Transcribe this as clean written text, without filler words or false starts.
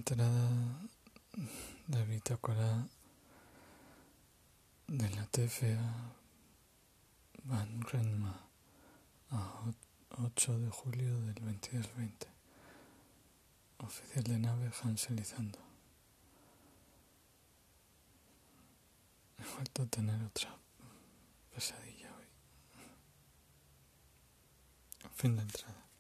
Entrada de bitácora de la TFA Van Renma a 8 de julio del 2220. Oficial de nave Hansel Izando. He vuelto a tener otra pesadilla hoy. Fin de entrada.